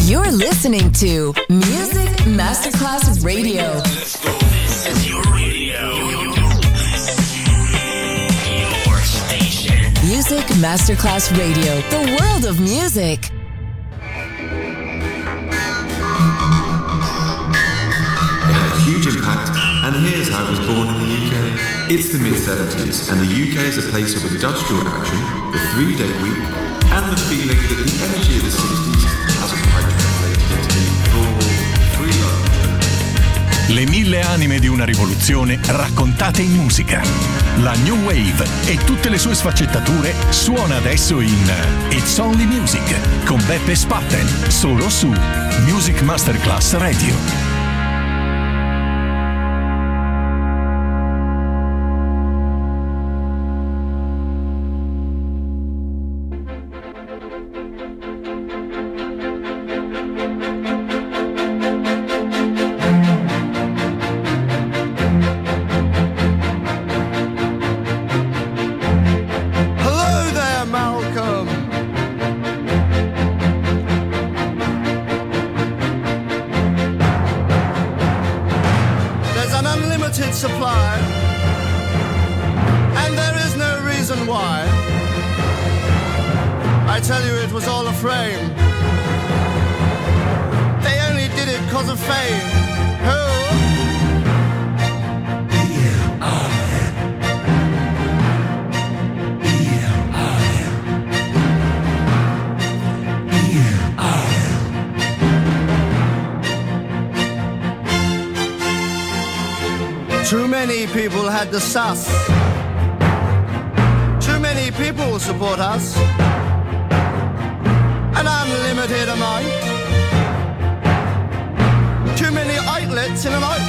You're listening to Music Masterclass Radio. Let's go. This is your radio. Your station. Music Masterclass Radio. The world of music. It had a huge impact, and here's how it was born in the UK. It's the mid-70s, and the UK is a place of industrial action, the 3-day week, and the feeling that the energy of the 60s hasn't quite translated into the raw, free love. Le 1000 anime di una rivoluzione raccontate in musica. La New Wave e tutte le sue sfaccettature suona adesso in It's Only Music con Beppe Spatten, solo su Music Masterclass Radio. Too many people had the sus. Too many people support us. An unlimited amount. Too many outlets in an out.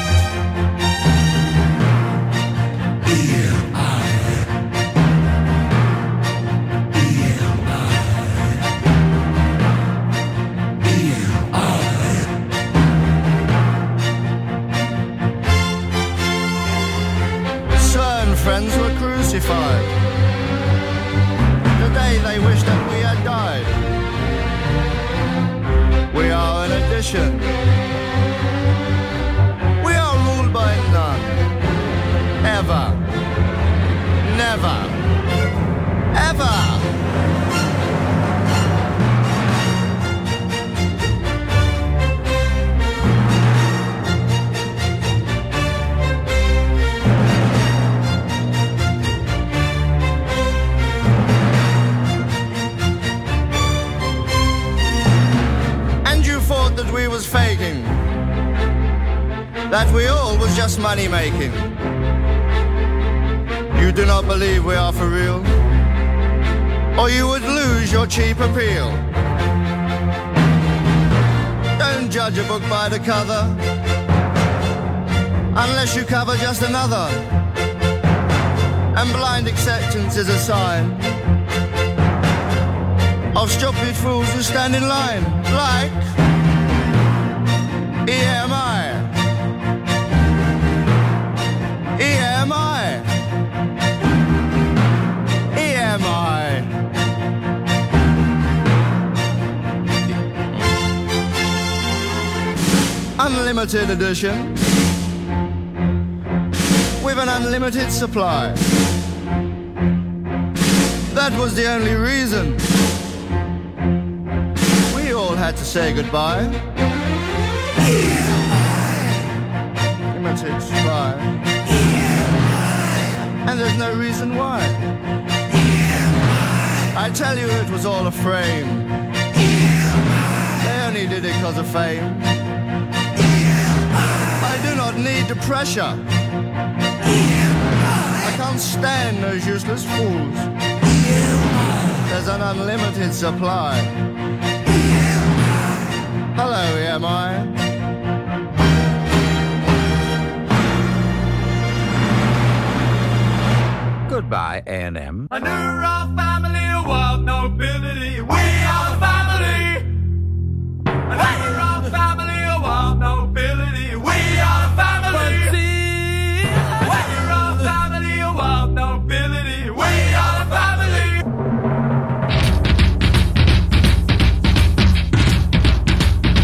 Friends were crucified the day they wished that we had died. We are an addition. We are ruled by none. Ever. Never. Ever. That we was faking, that we all was just money making. You do not believe we are for real, or you would lose your cheap appeal. Don't judge a book by the cover, unless you cover just another, and blind acceptance is a sign of stupid fools who stand in line, like EMI. EMI. EMI. Unlimited edition with an unlimited supply. That was the only reason we all had to say goodbye. Limited supply. And there's no reason why. I tell you it was all a frame. They only did it because of fame. I do not need the pressure. I can't stand those useless fools. There's an unlimited supply. Hello, EMI. Goodbye, A&M. A new royal family of wild nobility. We are the family. A new royal family of wild nobility. We are the family. A new royal family of wild nobility. We are the family.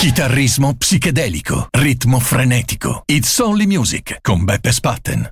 Chitarrismo psichedelico, ritmo frenetico. It's Only Music con Beppe Spatten.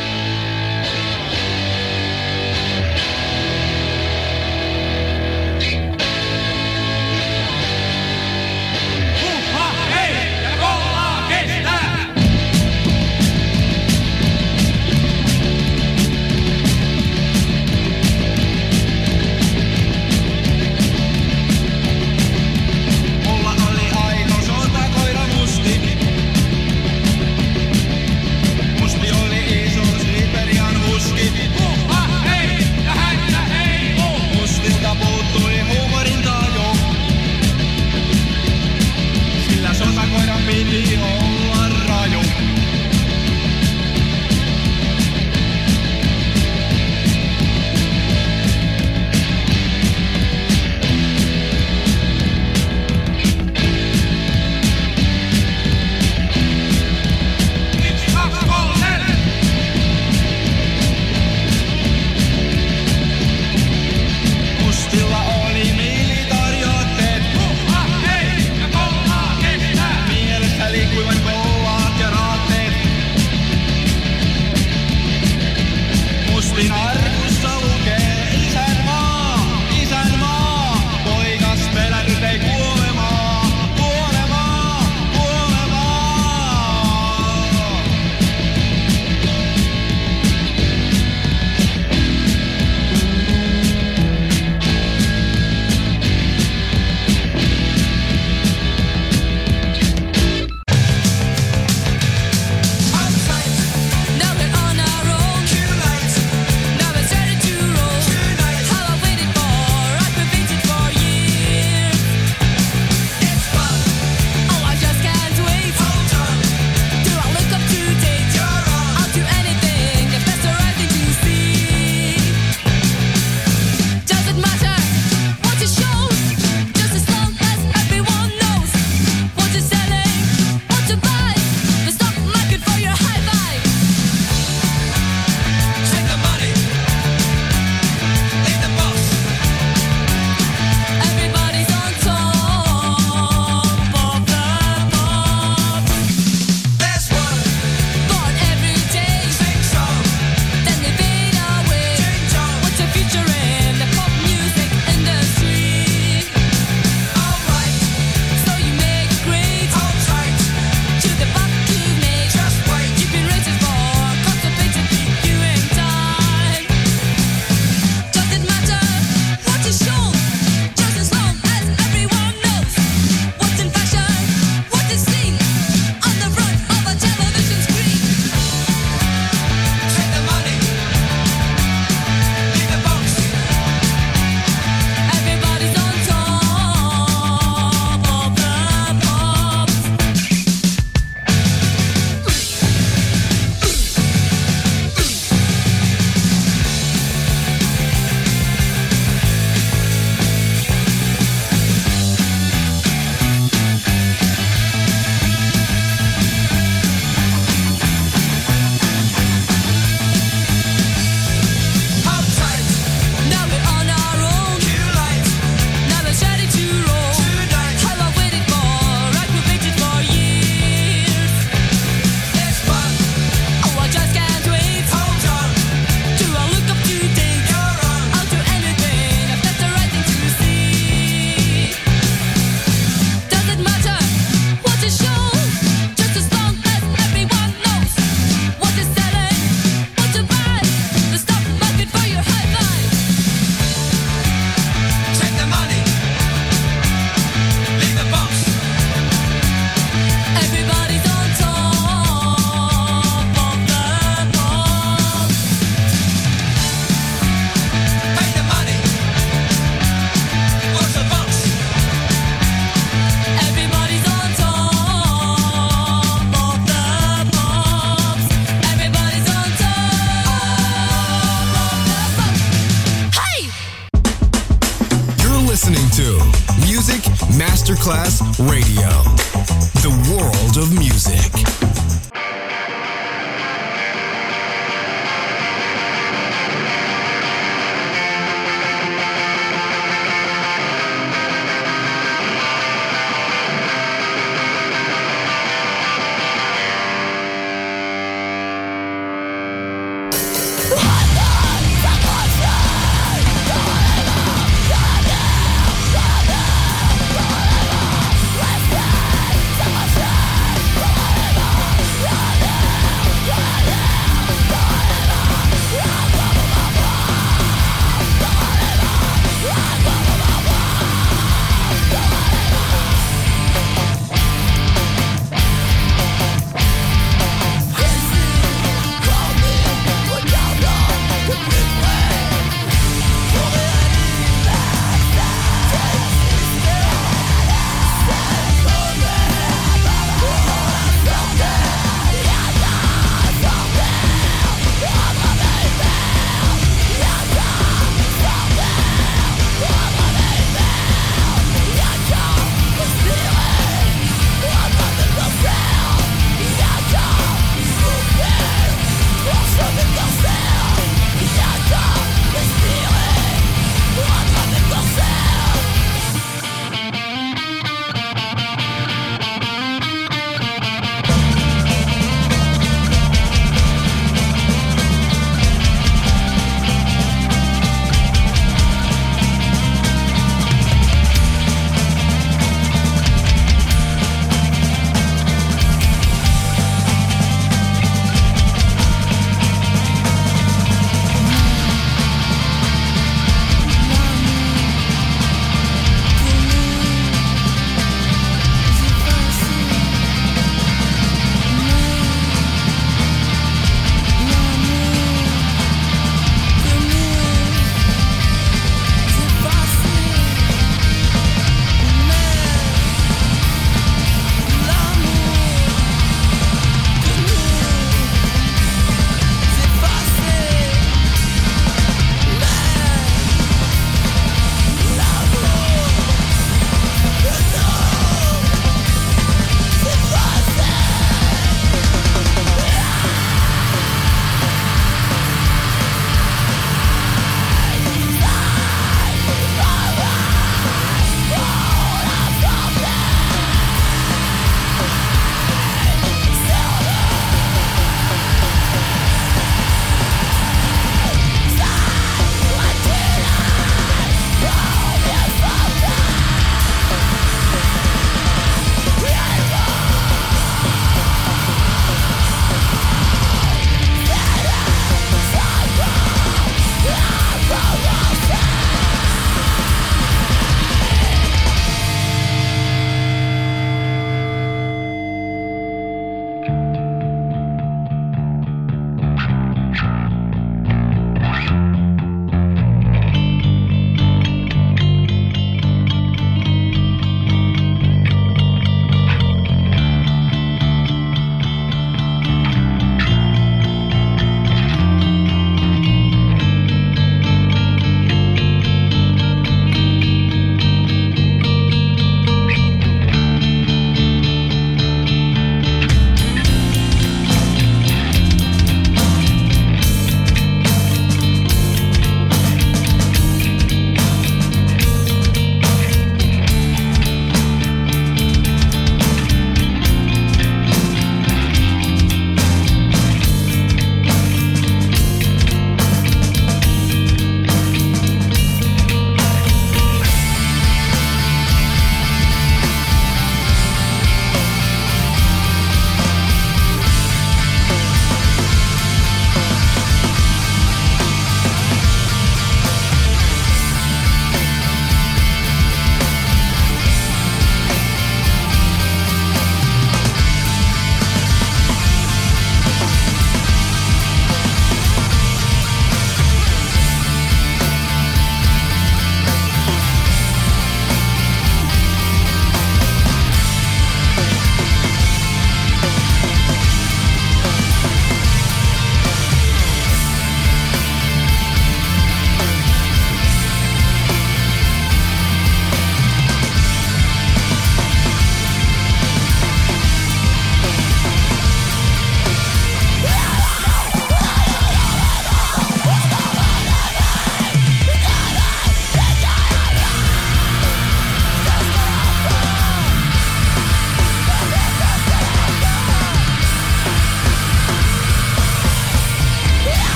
Masterclass Radio, the world of music.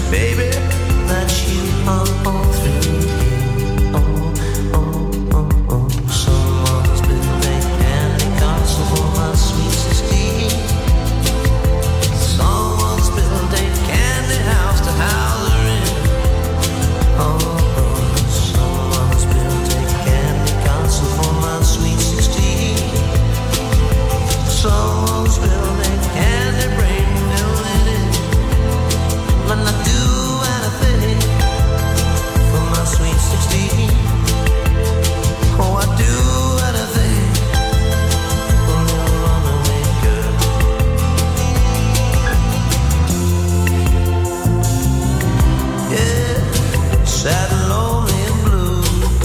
baby, that you are all through. Someone's built a candy castle for my sweet 16. Someone's built a candy house to house her in. Someone's built a candy castle for my sweet 16. Someone's built a candy brain filled it in. And I do anything for my sweet 16. Oh, I do anything for a little runaway girl. Yeah, sad and lonely and blue.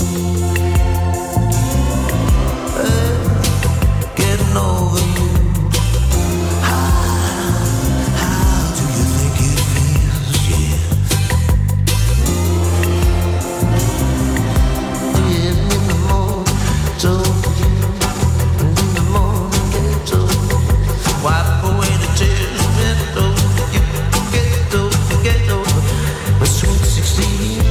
Getting over you. How do you think it feels? Yeah. In the morning, told you. In the morning, get over. Wipe away the tears, get over. You get over, get over. The sweet 16.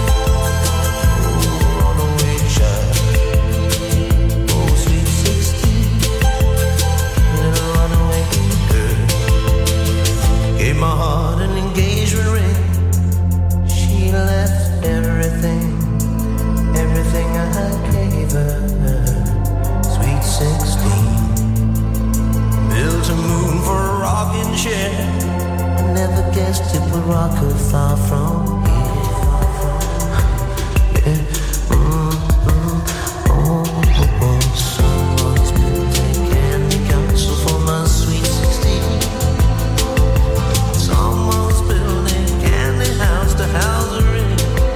Oh, runaway child. Oh, sweet 16. Little runaway girl. Gave my heart an engagement ring. She left everything, everything I gave her. Sweet 16. Built a moon for a rocking chair. I never guessed it would rock her far from here. Yeah. Someone's built a candy castle for my sweet 16. Someone's built a candy house to house her in.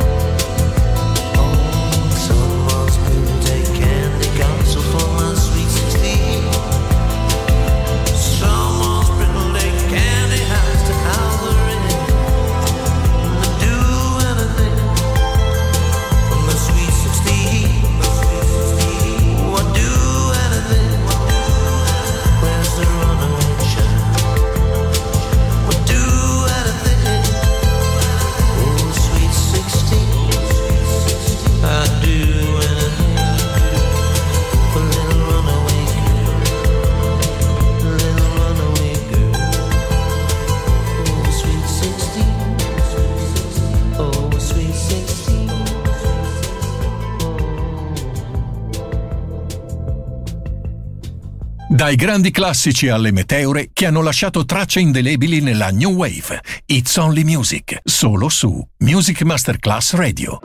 Someone's built a candy castle for my sweet 16. Someone's built a candy house to house her in. And I do anything for my sweet 16. Oh, I do anything. Where's the runaway child? I do anything. Oh, sweet 16. I do anything for little runaway girl. Little runaway girl. Oh, sweet 16. Oh, sweet 16. Dai grandi classici alle meteore che hanno lasciato tracce indelebili nella New Wave. It's Only Music, solo su Music Masterclass Radio.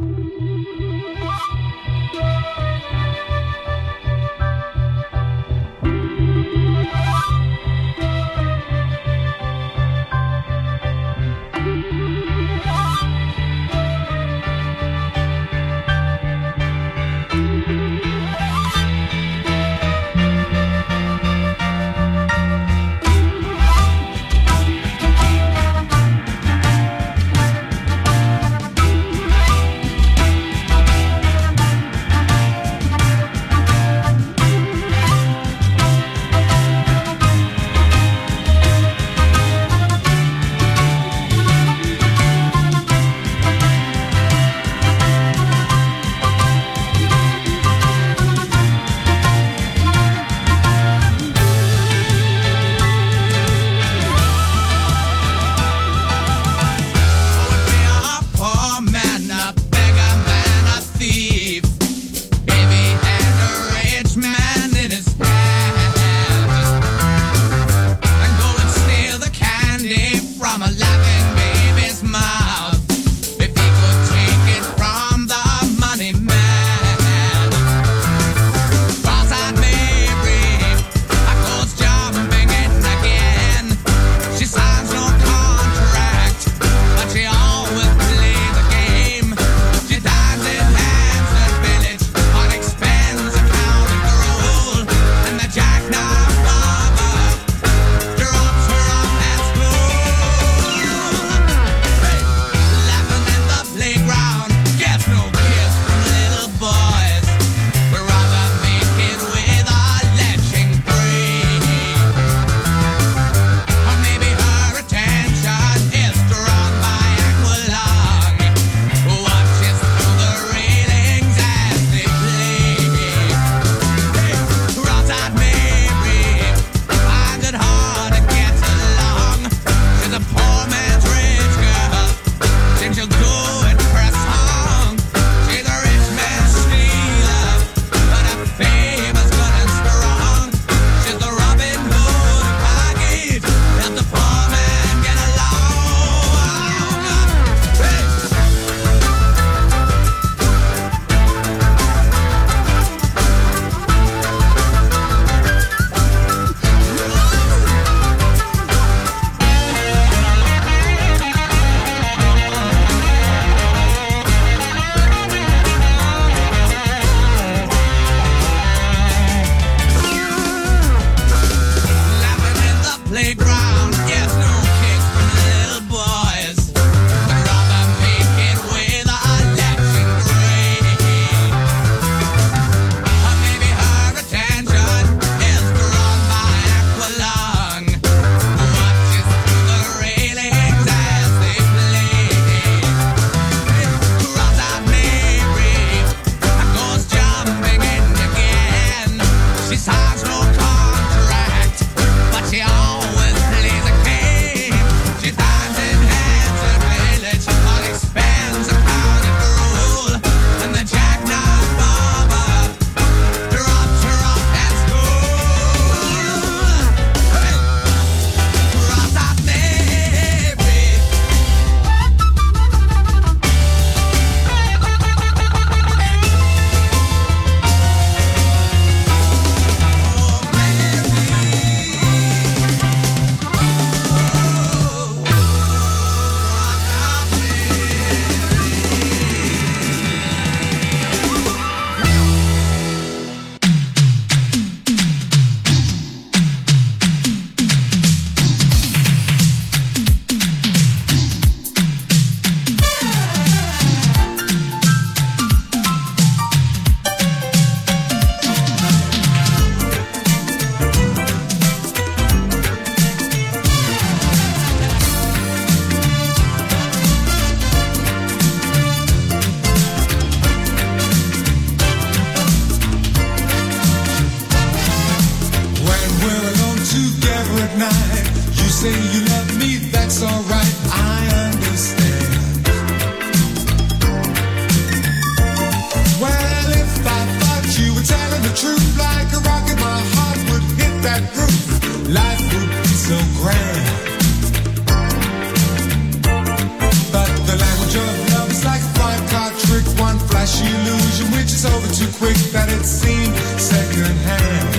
it's over too quick that it seemed secondhand.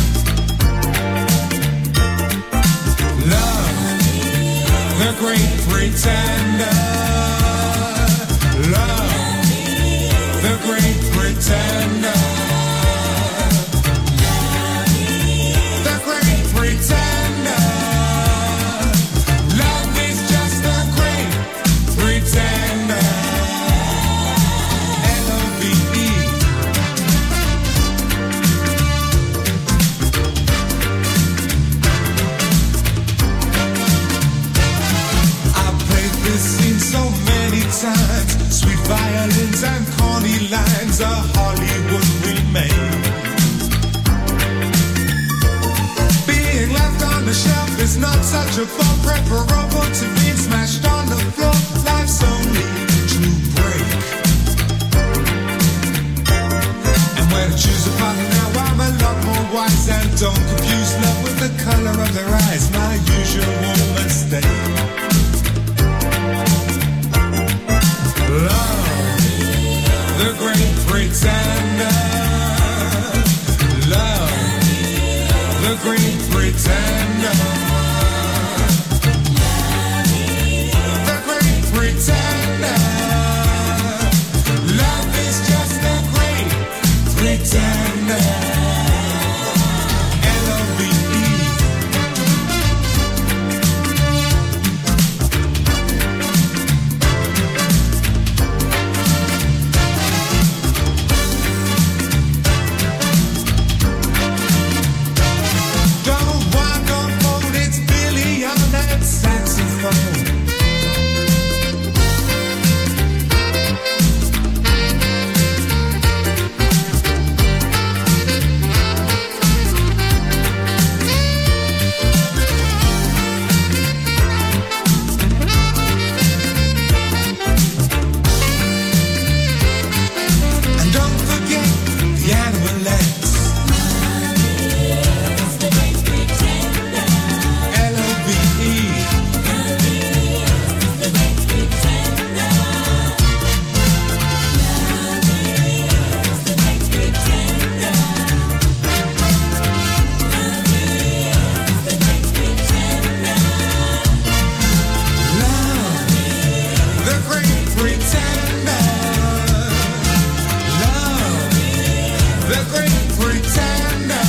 Love, the great pretender. Love, the great pretender. The great pretender. Love is just a great pretender. L-O-V-E. I've played this scene so many times. Sweet violins and corny lines, a Hollywood remake. Being left on the shelf is not such a bump, preferable to being smashed on the floor. Life's only to break. And when I choose a partner now, I'm a lot more wise. And don't confuse love with the color of their eyes, my usual mistake. Love, the great pretender. Love, the great pretender. The great pretender. Love is just a great pretender. L-O-V-E. Don't want no phone, it's Billy on that saxophone. And don't forget the Animalettes. L-O-V-E. Love, the great pretender. Love, the great pretender.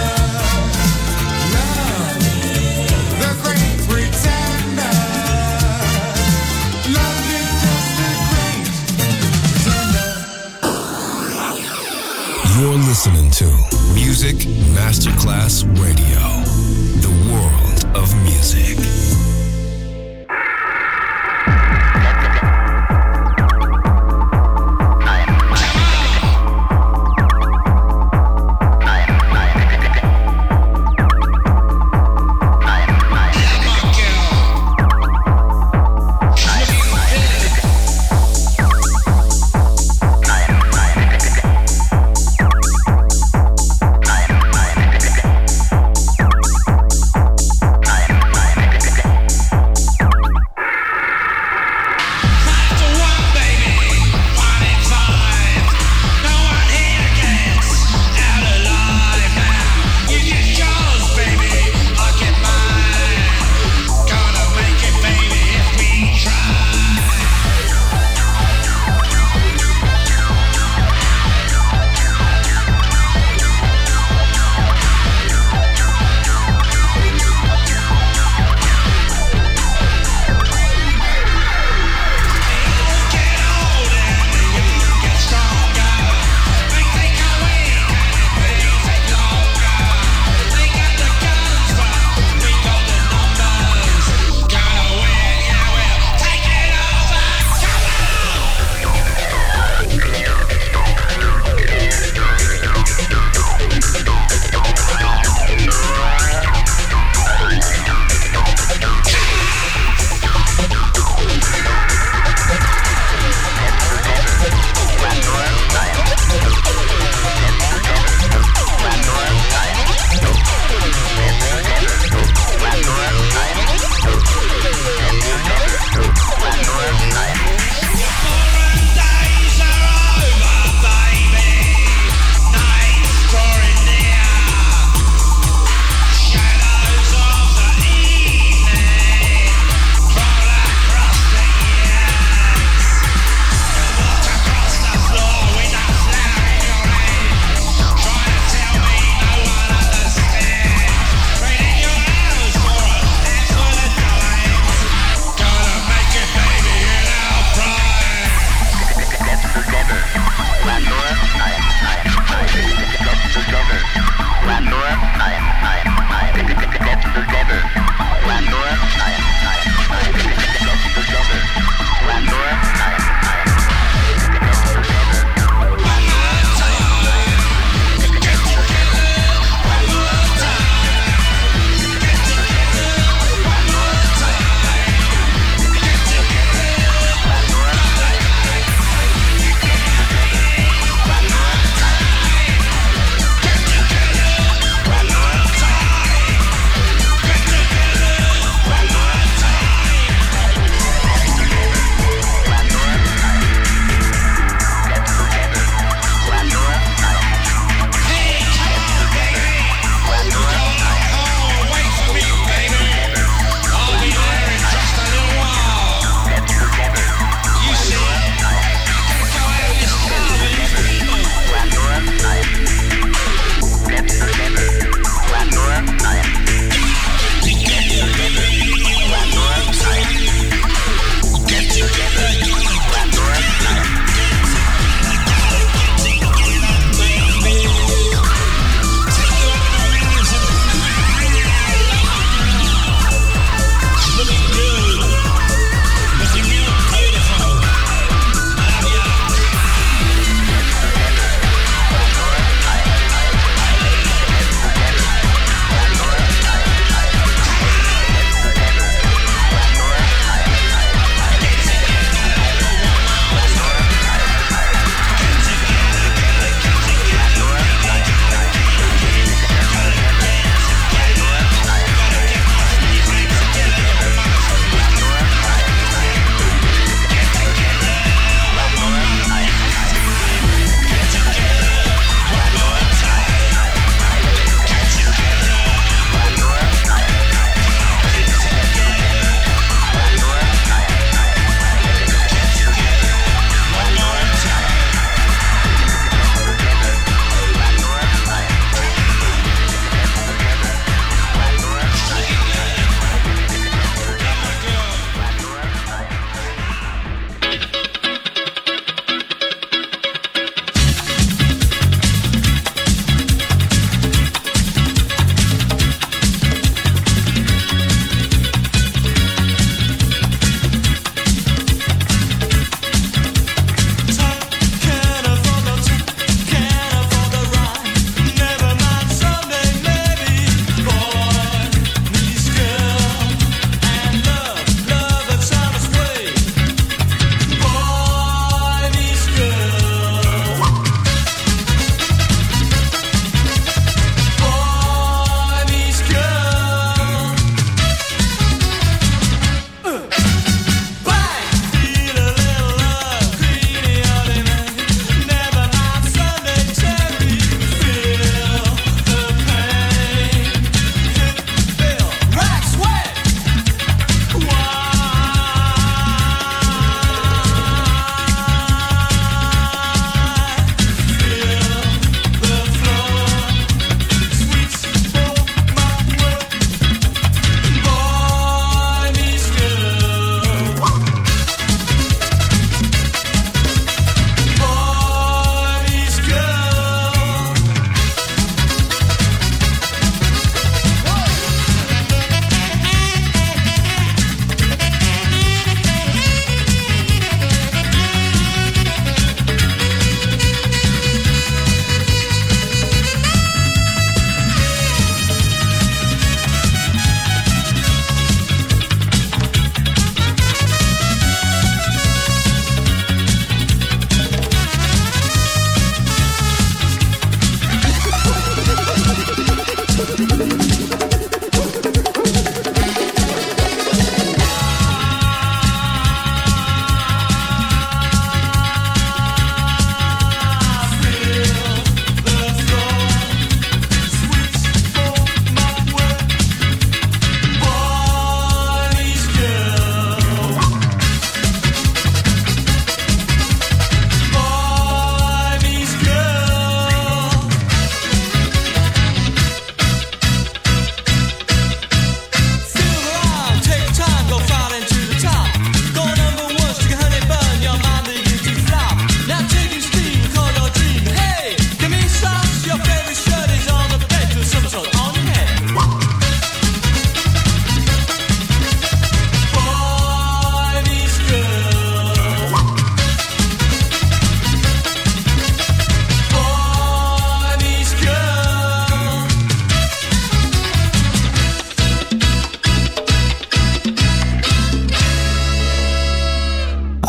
Love, the great pretender. Love is just a great pretender. You're listening to Music Masterclass Radio, the world of music.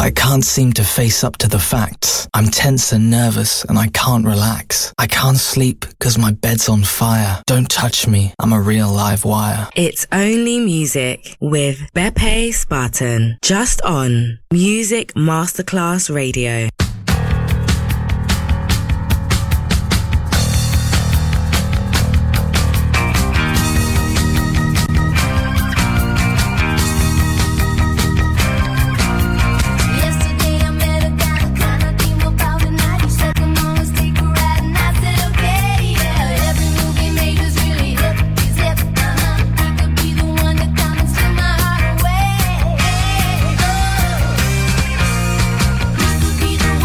I can't seem to face up to the facts. I'm tense and nervous and I can't relax. I can't sleep because my bed's on fire. Don't touch me, I'm a real live wire. It's Only Music with Beppe Spartan. Just on Music Masterclass Radio. Be the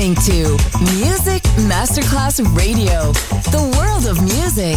listening to Music Masterclass Radio, the world of music.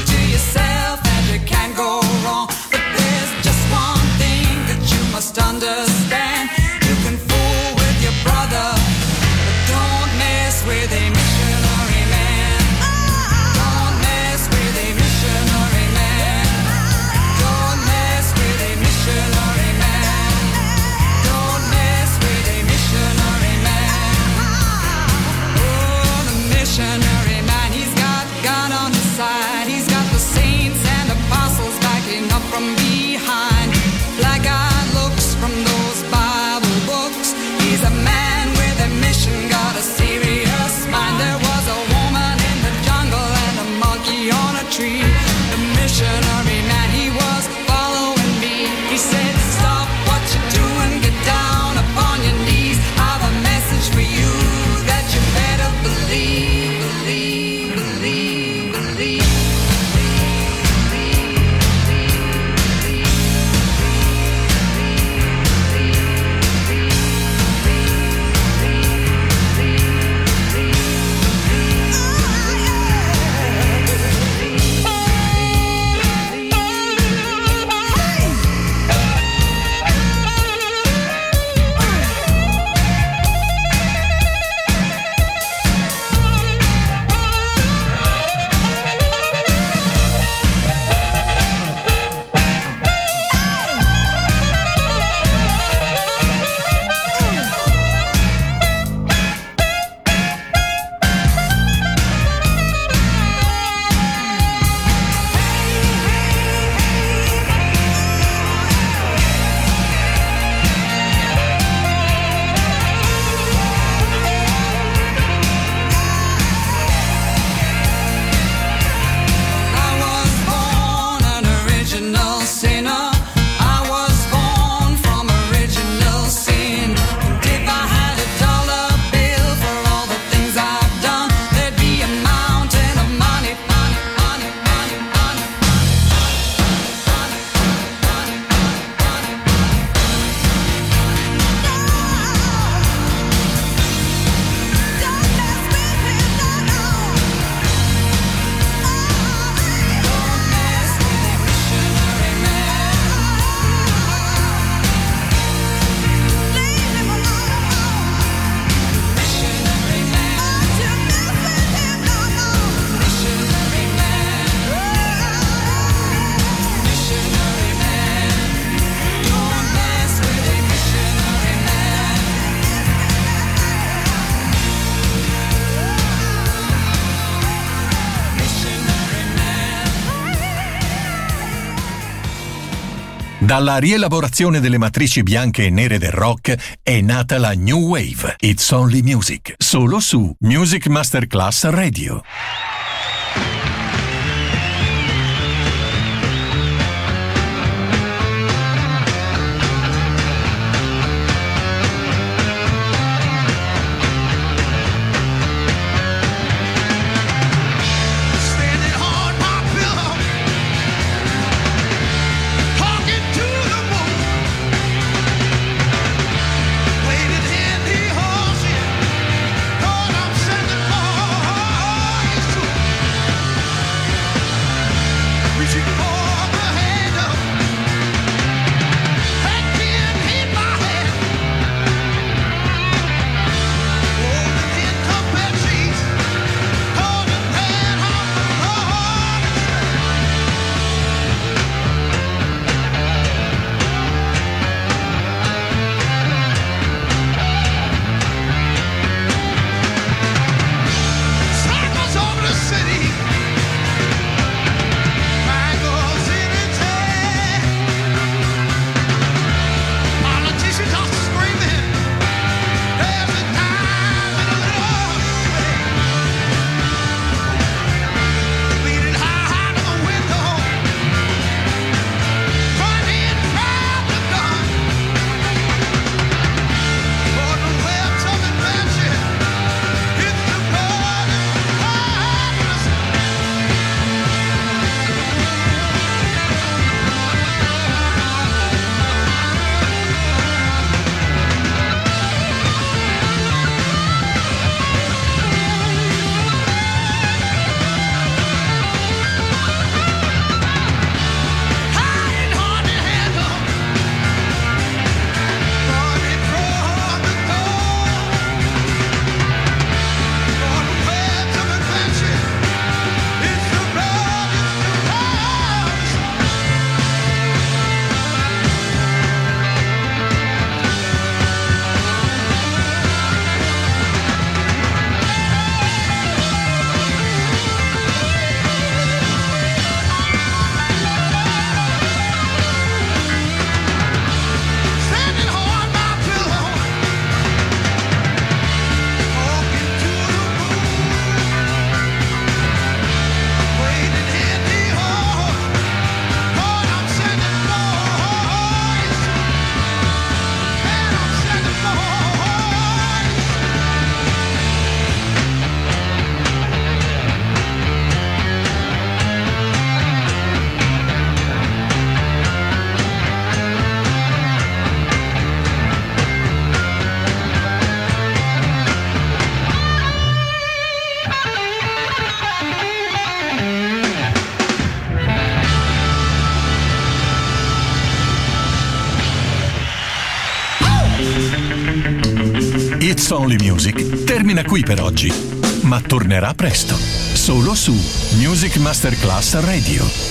Understand Dalla rielaborazione delle matrici bianche e nere del rock è nata la New Wave. It's Only Music, solo su Music Masterclass Radio. It's Only Music termina qui per oggi, ma tornerà presto, solo su Music Masterclass Radio.